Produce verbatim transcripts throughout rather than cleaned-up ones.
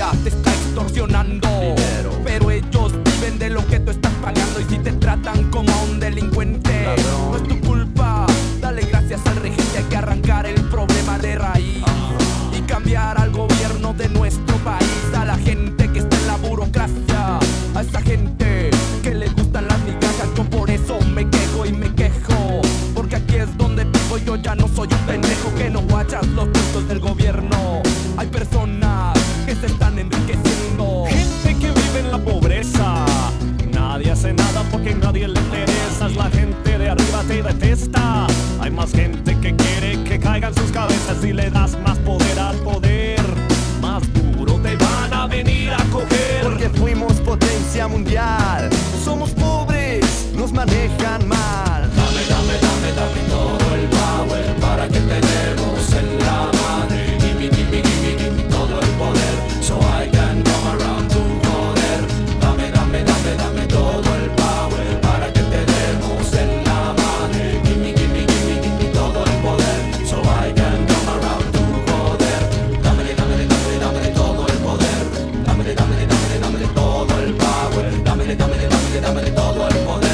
familia te está extorsionando dinero, pero ellos viven de lo que tú estás pagando. Y si te tratan como a un delincuente, ladrón, no es tu culpa. Dale gracias al regente, hay que arrancar el problema de raíz. uh-huh. Y cambiar al gobierno de nuestro país, a la gente que está en la burocracia, a esa gente que le gustan las migajas. Yo por eso me quejo y me quejo, porque aquí es donde vivo. Yo ya no soy un pendejo que no guachas los puntos del gobierno. Hay personas que se están enriqueciendo, gente que vive en la pobreza. Nadie hace nada porque a nadie le interesas. La gente de arriba te detesta. Hay más gente que quiere que caigan sus cabezas. Si le das más poder al poder, más duro te van a venir a coger. Porque fuimos potencia mundial. Somos pobres, nos manejan mal. Dame, dame, dame, dame todo el power para que tenemos en la madre. Gimme, gimme, gimme, gimme todo el poder, so I can come around to joder. Dame, dame, dame, dame todo el power para que tenemos en la madre. Gimme, gimme, gimme, gimme todo el poder, so I can come around to joder. Dame, dame, dame, dame todo el poder. Dame, dame, dame, dame todo el power. Dame, dame, dame, dame todo el poder.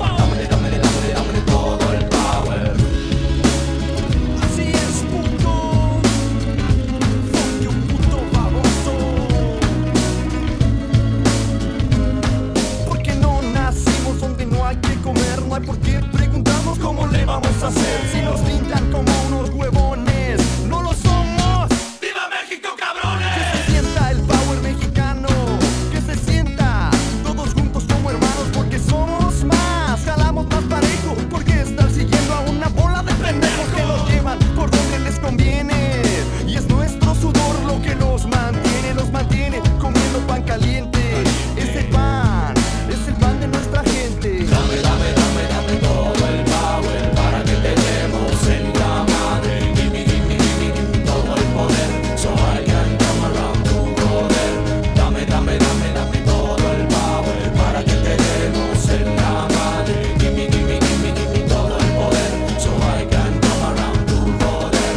No hay por qué preguntarnos cómo le vamos a hacer. Si nos pintan como unos huevones, no lo somos. ¡Viva México, cabrones! Que se sienta el power mexicano, que se sienta todos juntos como hermanos, porque somos más, jalamos más parejo. Porque estar siguiendo a una bola de pendejos que nos llevan por donde les conviene. Y es nuestro sudor lo que nos mantiene, nos mantiene comiendo pan caliente. Es el pan, es el pan de nuestra gente. Dame, dame, dame, dame todo el power para que tenemos en la madre. Gimme, gimme, gimme, gimme todo el poder, so I can come around to joder. Dame, dame, dame, dame todo el power para que tenemos en la madre. Gimme, gimme, gimme, gimme todo el poder, so I can come around to joder.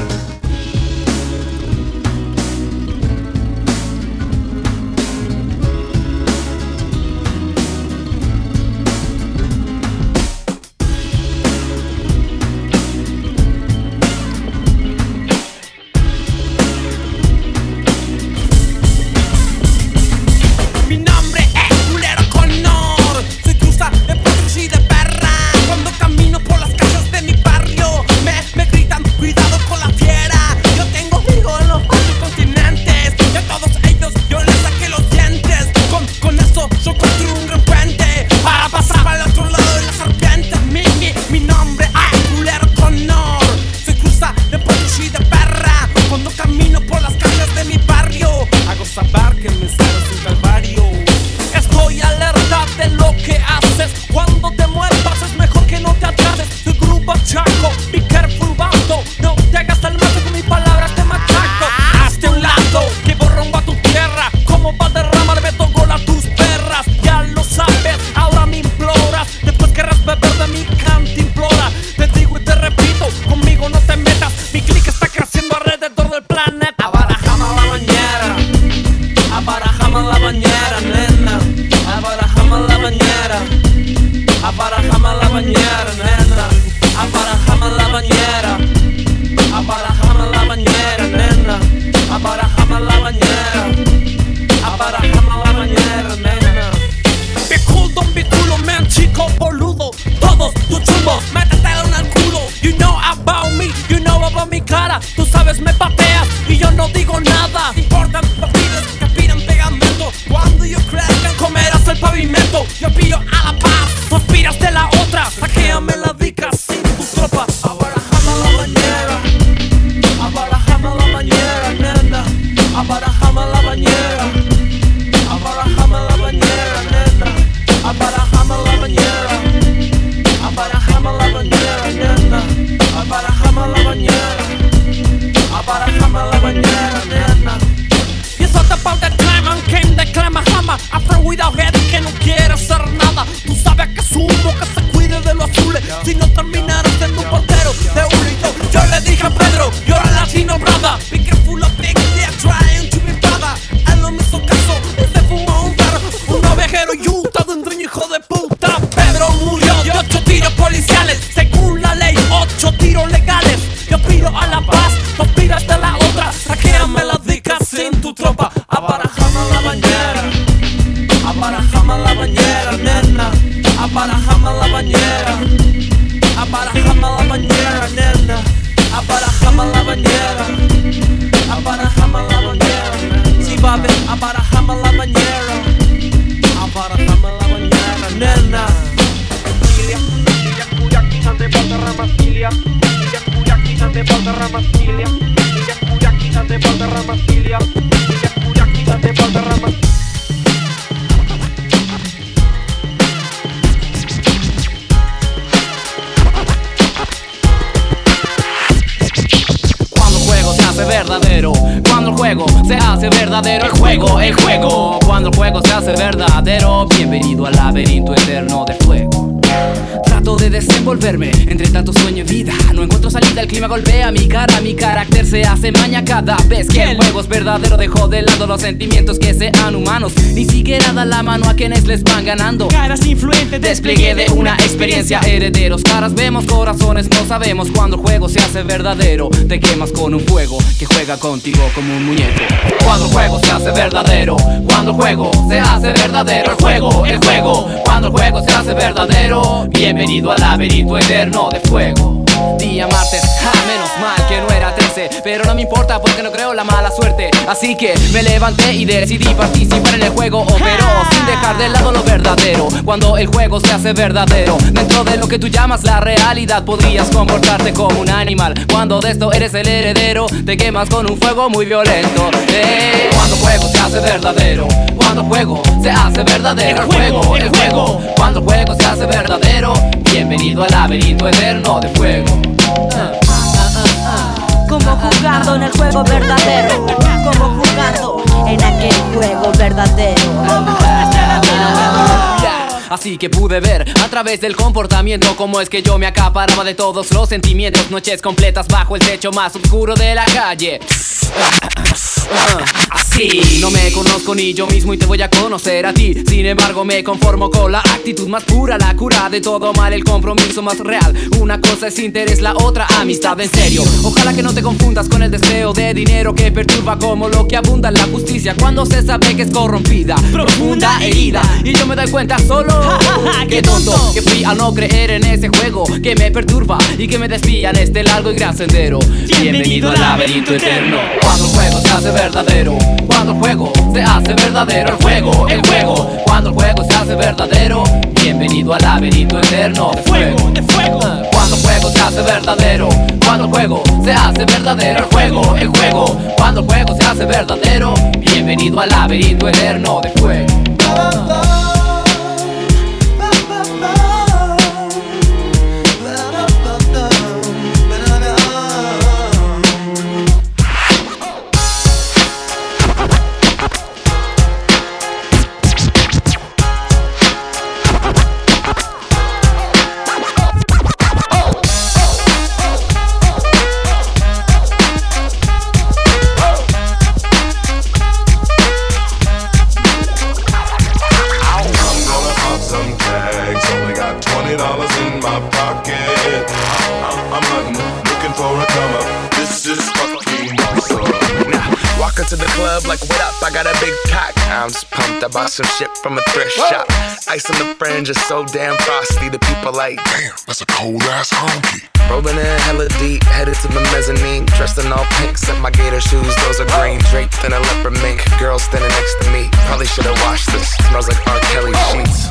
Mi nombre es Culero Connor, soy cruza de potros y de perra. Cuando camino por las calles de mi barrio, me, me gritan cuidado con la fiera. Yo tengo amigos en los cuatro continentes, y a todos ellos yo les saqué los dientes. Con, con eso yo construí un gran puente para pasar al otro lado de la serpiente. Mi, mi, mi nombre es Culero Connor, soy cruza de potros y de perra. Cuando camino por las calles de mi barrio, hago saber que me espero sin calvario. Estoy alerta de lo que haces. Cuando te muevas es mejor que no te atrases. Soy grupo chaco, be careful vato. No te hagas el mato con mis palabras te machaco. Hazte un lado, que borrombo a tu tierra. Como va a derramarme todo a tus perras. Ya lo sabes, ahora me imploras. Después querrás beber de mi cantimplora. Te digo y te repito, conmigo no te metas. Mi click está creciendo alrededor del planeta. Abarajame la bañera, abarajame la bañera, nena. Abarajame la bañera, abarajame la bañera, nena. Abarajame la bañera, abarajame la bañera, nena. Abarajame la bañera, abarajame la bañera, nena. Be cool, don't be culo, man, chico boludo. Todos tus chumbos, métetelo en el culo. You know about me, you know about mi cara. Tú sabes, me pateas y yo no digo nada. Importan los pibes que aspiran pegamento. Cuando yo crezca comerás el pavimento. Yo pillo a la paz, tú aspiras de la otra. Saquéame la dica sin tu tropa. Abarajame la bañera, abarajame la bañera, nena. Abarajame la bañera, abarajame la bañera, nena. Abarajame la bañera, abarajame la bañera, nena. Abarajame la bañera, abarajame la bañera, nena. Y it's all about the time and came the climb a hammer. After without head que no quiere hacer nada. Tú sabes que su boca se cuide de los azules. Si no terminaras siendo un portero de un rito. Yo le dije a Pedro, you're a Latino brother. Be careful of big dick trying to be brother. I lo mismo que hace verdadero el juego, el juego. Cuando el juego se hace verdadero, bienvenido al laberinto eterno de fuego. Trato de desenvolverme entre tanto sueño y vida. No encuentro salida, el clima golpea mi cara. Mi carácter se hace maña cada vez que el juego es verdadero. Dejo de lado los sentimientos que sean humanos. Ni siquiera da la mano a quienes les van ganando. Caras influentes, despliegue de una experiencia. Herederos, caras vemos, corazones no sabemos. Cuando el juego se hace verdadero, te quemas con un fuego que juega contigo como un muñeco. Cuando el juego se hace verdadero, cuando el juego se hace verdadero, el juego, el juego. Cuando el juego se hace verdadero, bienvenido al laberinto eterno de fuego. Día martes, ja, menos mal que no era trece, pero no me importa porque no creo la mala suerte. Así que me levanté y decidí participar en el juego, pero sin dejar de lado lo verdadero. Cuando el juego se hace verdadero, dentro de lo que tú llamas la realidad, podrías comportarte como un animal. Cuando de esto eres el heredero, te quemas con un fuego muy violento. eh. Cuando el juego se hace verdadero, cuando el juego se hace verdadero, el juego, el juego. Cuando el juego se hace verdadero, bienvenido al laberinto eterno de fuego. Como jugando en el juego verdadero, como jugando en aquel juego verdadero. Así que pude ver a través del comportamiento cómo es que yo me acaparaba de todos los sentimientos. Noches completas bajo el techo más oscuro de la calle. Así no me conozco ni yo mismo y te voy a conocer a ti. Sin embargo me conformo con la actitud más pura, la cura de todo mal, el compromiso más real. Una cosa es interés, la otra amistad en serio. Ojalá que no te confundas con el deseo de dinero que perturba como lo que abunda en la justicia cuando se sabe que es corrompida, profunda herida. Y yo me doy cuenta solo qué tonto que fui al no creer en ese juego que me perturba y que me desvía en este largo y gran sendero. Bienvenido al laberinto eterno. Cuando el juego se hace verdadero, cuando el juego se hace verdadero, el juego, el juego. Cuando el juego se hace verdadero, bienvenido al laberinto eterno de fuego, de fuego. Cuando el juego se hace verdadero, cuando el juego se hace verdadero, el juego, el juego. Cuando el juego se hace verdadero, bienvenido al laberinto eterno de fuego. To the club like, what up, I got a big cock. I'm just pumped, I bought some shit from a thrift shop. Ice on the fringe is so damn frosty. The people like, damn, that's a cold ass honky. Rolling in hella deep, headed to the mezzanine. Dressed in all pink, set my gator shoes, those are green. Draped in a leopard mink, girl standing next to me. Probably should've washed this, smells like R. Kelly sheets.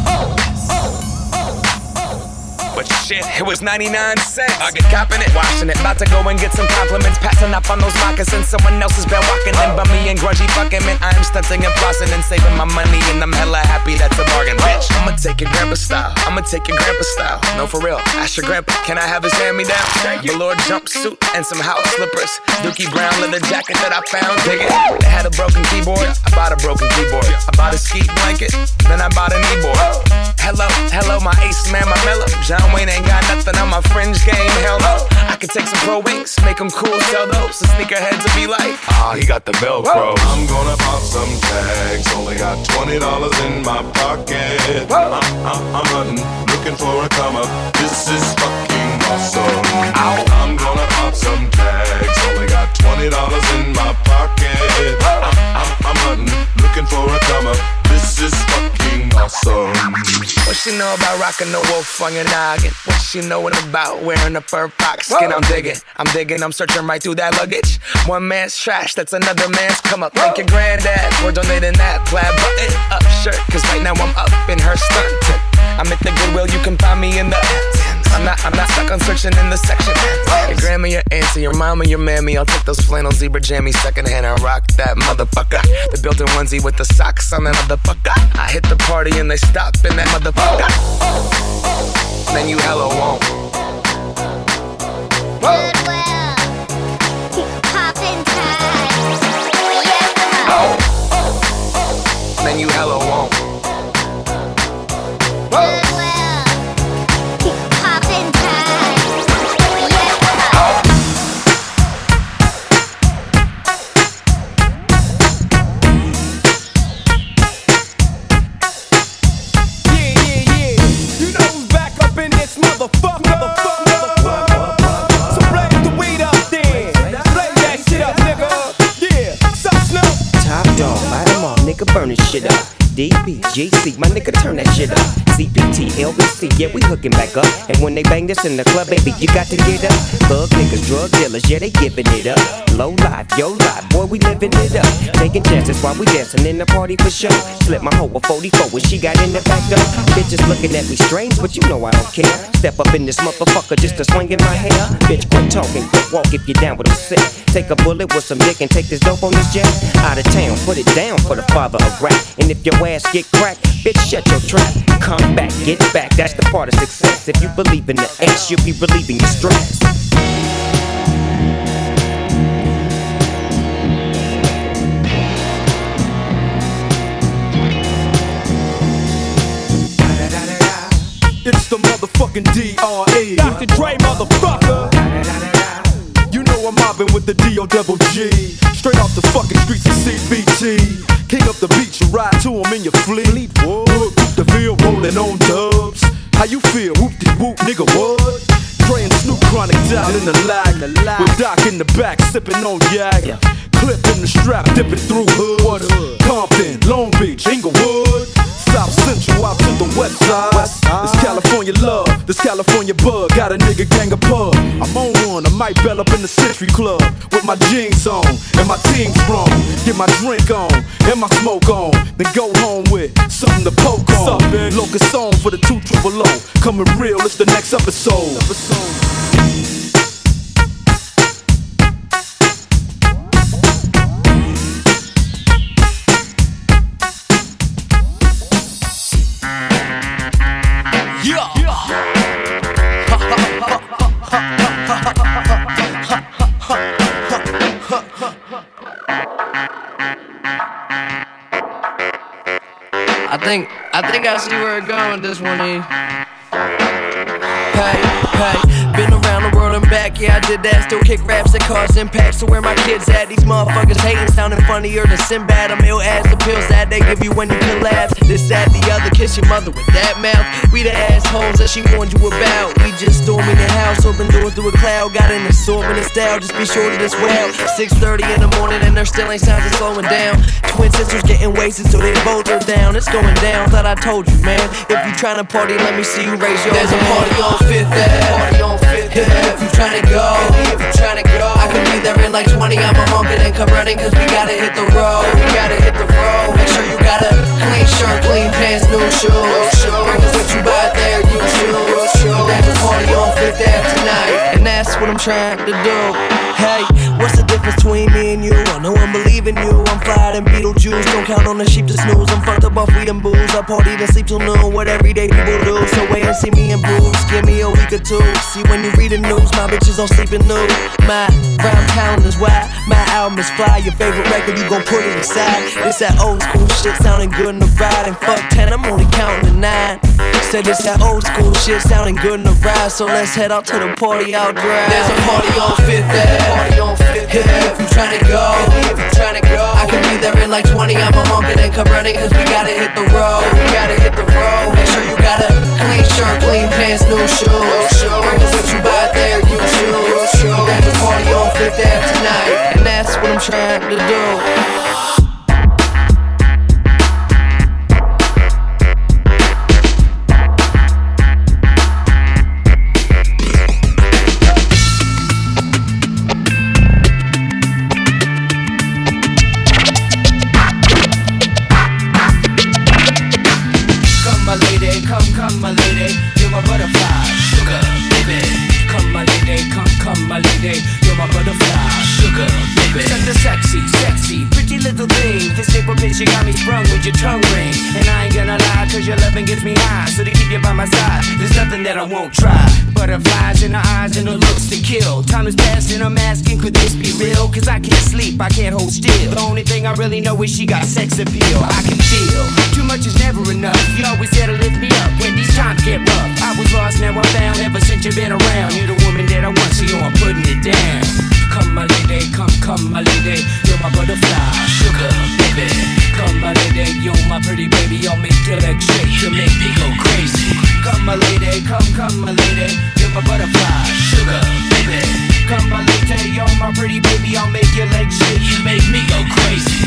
But shit, it was ninety-nine cents. I get copping it, washing it. About to go and get some compliments. Passing up on those moccasins. Someone else has been walking in bummy and grungy fucking man. I am stunting and flossing and saving my money. And I'm hella happy that's a bargain, bitch. I'ma take your grandpa style. I'ma take your grandpa style. No, for real. Ask your grandpa, can I have his hand-me-down? Velour jumpsuit and some house slippers. Dookie brown leather jacket that I found. Dig it. They had a broken keyboard. I bought a broken keyboard. I bought a ski blanket. Then I bought a kneeboard. Hello, hello, my ace man, my mellow. John Wayne ain't got nothing on my fringe game, hell no. I could take some pro wings, make them cool, sell those. The sneakerheads will be like, ah, he got the Velcro. I'm gonna pop some tags, only got twenty dollars in my pocket. I'm, I'm, I'm hunting, looking for a come up. This is fucking awesome. Ow. I'm gonna pop some tags, only got twenty dollars in my pocket. I'm, I'm, I'm hunting, looking for a come up. This is fucking awesome. What she know about rocking the wolf on your noggin? What she knowin' about wearing a fur fox skin? I'm digging, I'm digging, I'm searching right through that luggage. One man's trash, that's another man's come up. Thank your granddad for donating that plaid button up shirt. Cause right now I'm up in her skirt. I'm at the Goodwill, you can find me in the I'm not, I'm not stuck on searching in the section. Your grandma, your auntie, your mama, your mammy. I'll take those flannel zebra jammies secondhand and rock that motherfucker. The built-in onesie with the socks on that motherfucker. I hit the party and they stop in that motherfucker. Then you hella won't. Goodwill, poppin' tags. and you hella won't. Burn this shit up. D B G C, my nigga, turn that shit up. C P T, L B C, yeah, we hooking back up. And when they bang this in the club, baby, you got to get up. Thug niggas, drug dealers, yeah, they giving it up. Low life, yo life, boy, we living it up. Taking chances while we dancing in the party for sure. Slip my hoe a forty-four when she got in the back door. Bitches looking at me strange, but you know I don't care. Step up in this motherfucker just to swing in my hair. Bitch, quit talking, quit walk if you're down with a sick. Take a bullet with some dick and take this dope on this jet. Out of town, put it down for the father of rap. And if your ass get cracked, bitch, shut your trap. Come back, get back, that's the part of success. If you believe in the ass, you'll be relieving your stress. It's the motherfucking D R E Doctor Dre, motherfucker. You know I'm mobbing with the D O double G. Straight off the fucking streets of C B T. King up the beach, you ride to him in your fleet. Whoop, the field rolling on dubs. How you feel? Whoop-de-whoop, nigga, what? Dre and Snoop Chronic down in the lag. With Doc in the back, sipping on yak. Clip in the strap, dipping through hood. Compton, Long Beach, Inglewood. South Central out to the west side. This California love, this California bug. Got a nigga gang of pub. I'm on one, I might bell up in the Century Club with my jeans on and my team strong. Get my drink on and my smoke on. Then go home with something to poke on. Locust song for the two triple O. Coming real, it's the next episode. I think, I think I see where it's going with this one here. Hey, hey, been around the world and back, yeah I did that. Still kick raps that cause impact. So where my kids at? These motherfuckers hating, sounding funnier than Sinbad. I'm ill as the pills that they give you when you collapse. This, that, the other, kiss your mother with that mouth. We the assholes that she warned you about. We just storming the house, open doors through a cloud. Got an assortment of style, just be sure to this well. six thirty in the morning and there still ain't signs of slowing down. Twin sisters getting wasted so they both are down. It's going down, thought I told you, man. If you tryna party, let me see you raise your hand. There's a party on Fifth Ave, party on Fifth Ave. If you tryna go, if you tryna go, I could be there in like twenty. I'm a honkin' and come running, cause we gotta hit the road. We gotta hit the road. Make sure you got a clean shirt, clean pants, new shoes. Bring us what you buy there, you choose. There's a party on Fifth Ave tonight, and that's what I'm trying to do. Hey, what's the difference between me and you? I know I'm believing you. I'm fly than Beetlejuice. Don't count on the sheep to snooze. I'm fucked up off weed and booze. I party and sleep till noon. What everyday people do. So wait and see me in booze. Give me a week or two. See when you read the news, my bitches don't sleep in nude. My round town is wild. My album is fly. Your favorite record, you gon' put it aside. This that old school shit sounding good in the ride. And fuck ten, I'm only counting to nine. Said this that old school shit sounding good in the ride. So let's head out to the party out drive. There's a party on Fifth Ave. Party on Fifth Ave. If you tryna go, if you tryna go, I could be there in like twenty. I'm a honkin' and come running, cause we gotta hit the road. We gotta hit the road. Make sure you got a clean shirt, clean pants, new shoes. Bring us what you buy there, you choose. There's a party on Fifth Ave tonight, and that's what I'm trying to do. You're my butterfly, sugar, baby. Such a sexy, sexy, pretty little thing. Cause you got me sprung with your tongue ring. And I ain't gonna lie, cause your loving gets me high. So to keep you by my side, there's nothing that I won't try. Butterflies in her eyes and her looks to kill. Time is passing, I'm asking, could this be real? Cause I can't sleep, I can't hold still. The only thing I really know is she got sex appeal. I can feel, too much is never enough. You always there to lift me up when these times get rough. I was lost, now I'm found, ever since you've been around. You're the woman that I want, so yo, I'm putting it down. Come my lady, come, come my lady. You're my butterfly, sugar, baby. Come my lady, you're my pretty baby. I'll make your legs shake, you make me go crazy. Come my lady, come, come my lady. You're my butterfly, sugar, baby. Come my lady, you're my pretty baby. I'll make your legs shake, you make me go crazy.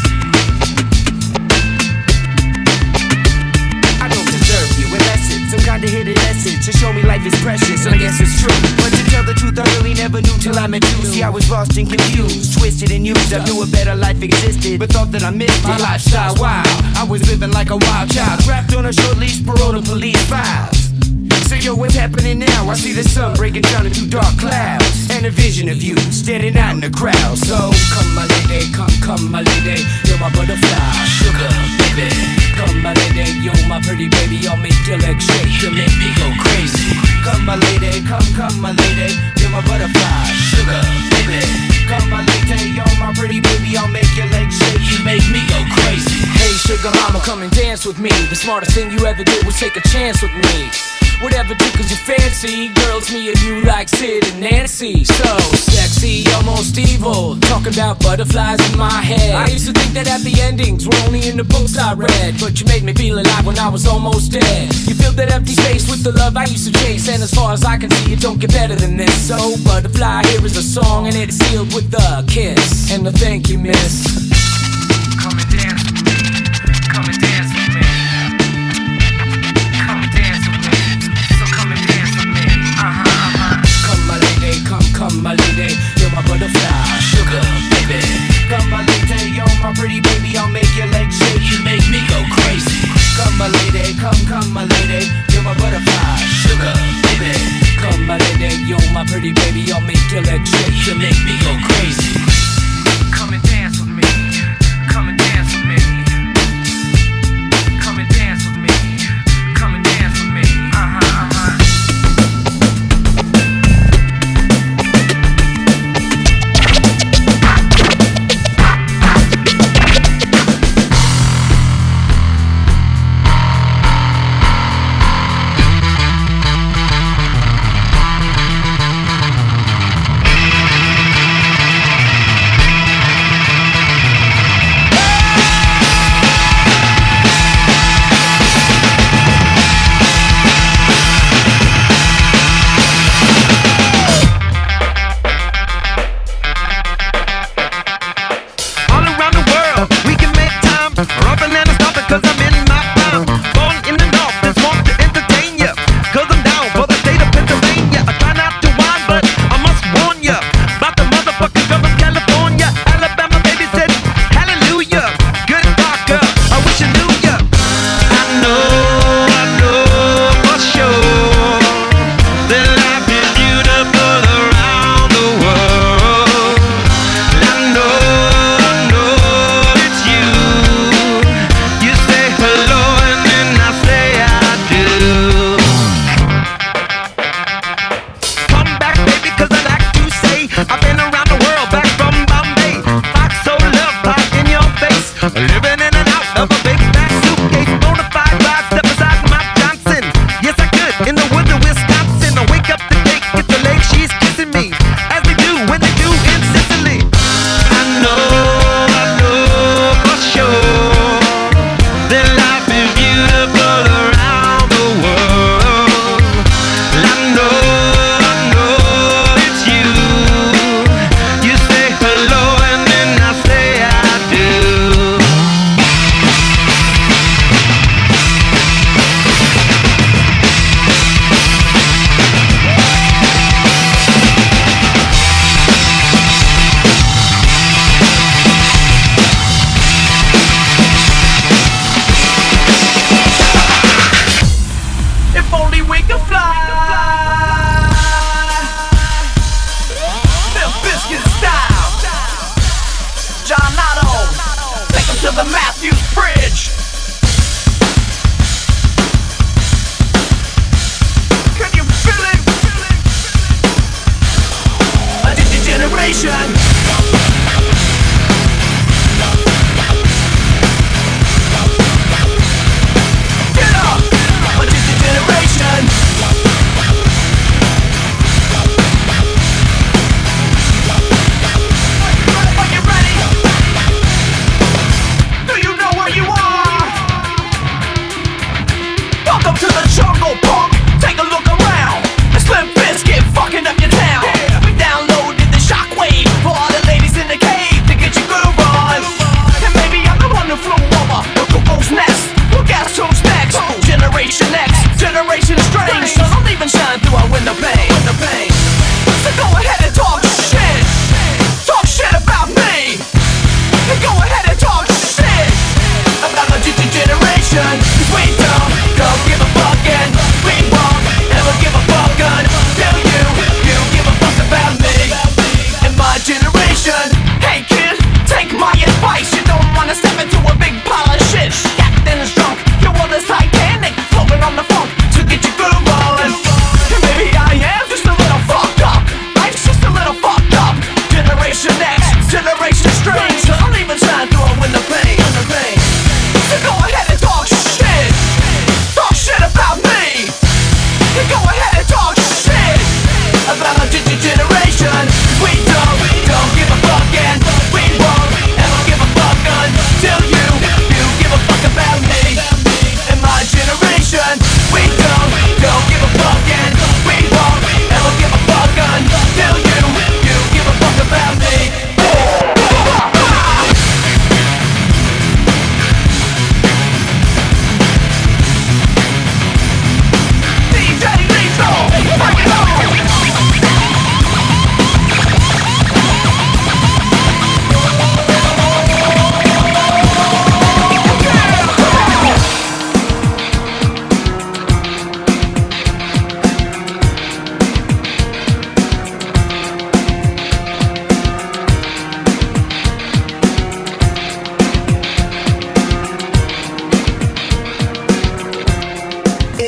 I don't deserve you, unless it's some kind of hidden message to show me life is precious, and I guess it's true. But to tell the truth, I really never knew till I met you. See, I was lost and confused, twisted and used. I knew a better life existed, but thought that I missed it. My lifestyle wild, I was living like a wild child, trapped on a short leash, parole to police files. So yo, what's happening now? I see the sun breaking down into dark clouds, and a vision of you standing out in the crowd. So come my lady, come, come my lady. You're my butterfly, sugar, baby. Come my lady, you're my pretty baby. I'll make your legs shake, you make me go crazy. Come my lady, come, come my lady. You're my butterfly, sugar, baby. Come my lady, you're my pretty baby. I'll make your legs shake, you make me go crazy. Hey sugar mama, come and dance with me. The smartest thing you ever did was take a chance with me. Whatever tickles your fancy, girls, me and you like Sid and Nancy. So sexy, almost evil, talking about butterflies in my head. I used to think that happy endings were only in the books I read, but you made me feel alive when I was almost dead. You filled that empty space with the love I used to chase, and as far as I can see, it don't get better than this. So butterfly, here is a song, and it's sealed with a kiss and a thank you, miss. Come and dance with me, come and dance with me. Come my lady, you're my butterfly, sugar, baby. Come my lady, you're my pretty baby. I'll make your legs shake, you make me go crazy. Come my lady, come, come my lady. You're my butterfly, sugar, baby. Come my lady, you're my pretty baby. I'll make your legs shake, you make me go crazy. Come and dance with me, come and dance with me. Come and dance with me, come and dance with me. Uh-huh, uh-huh.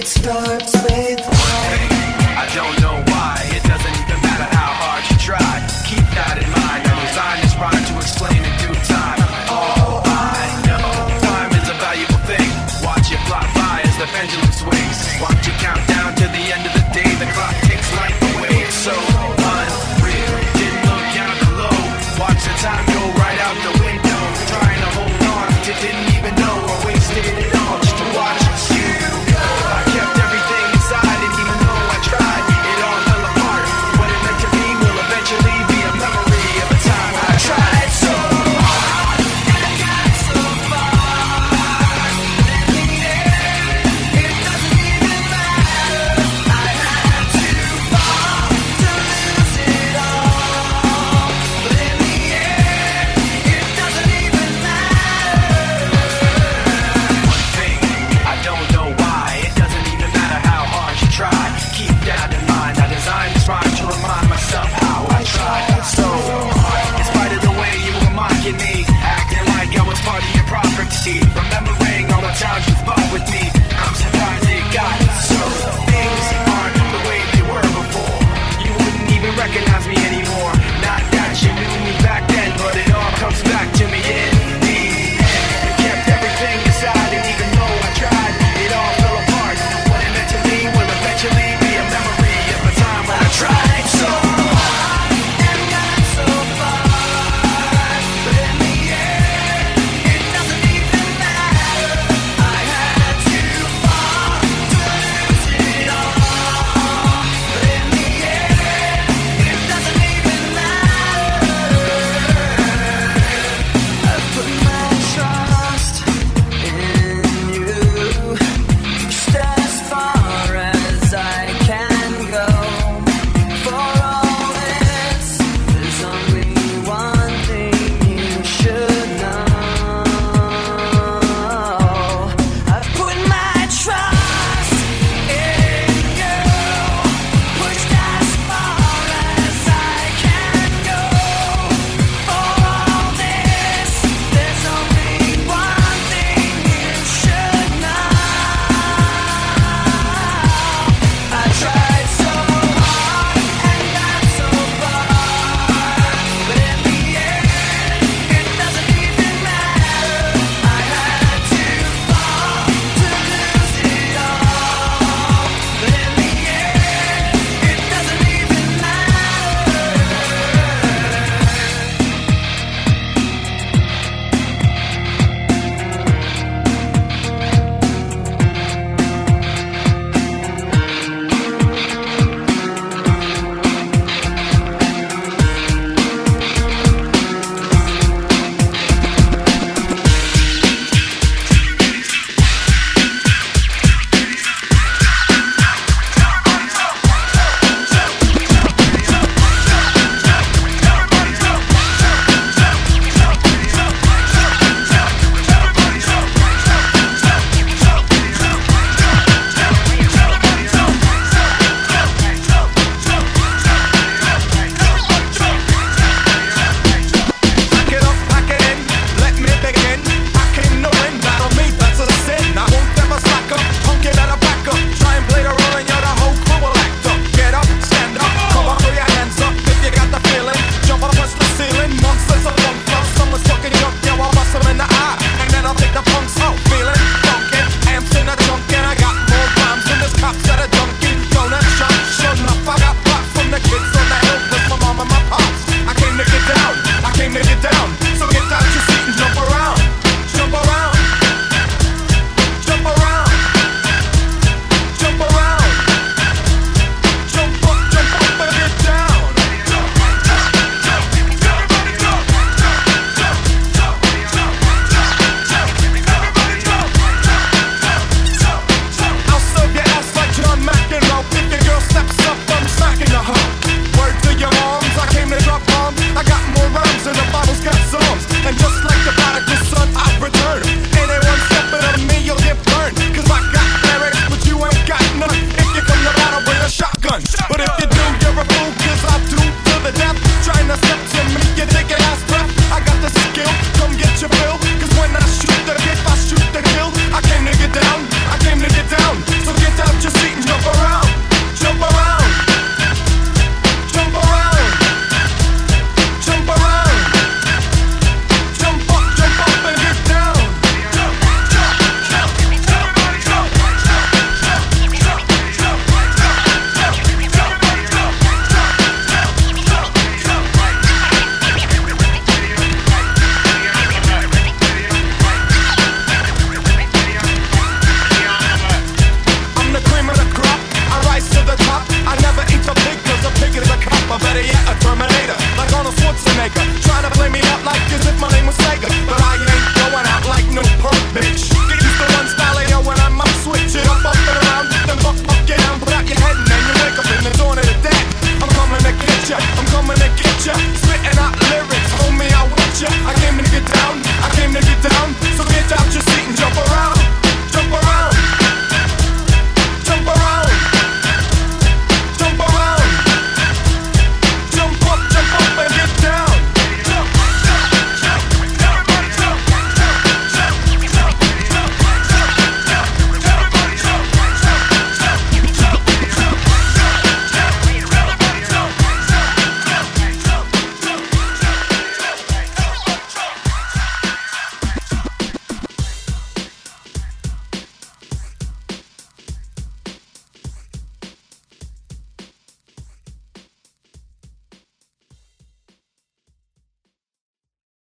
starts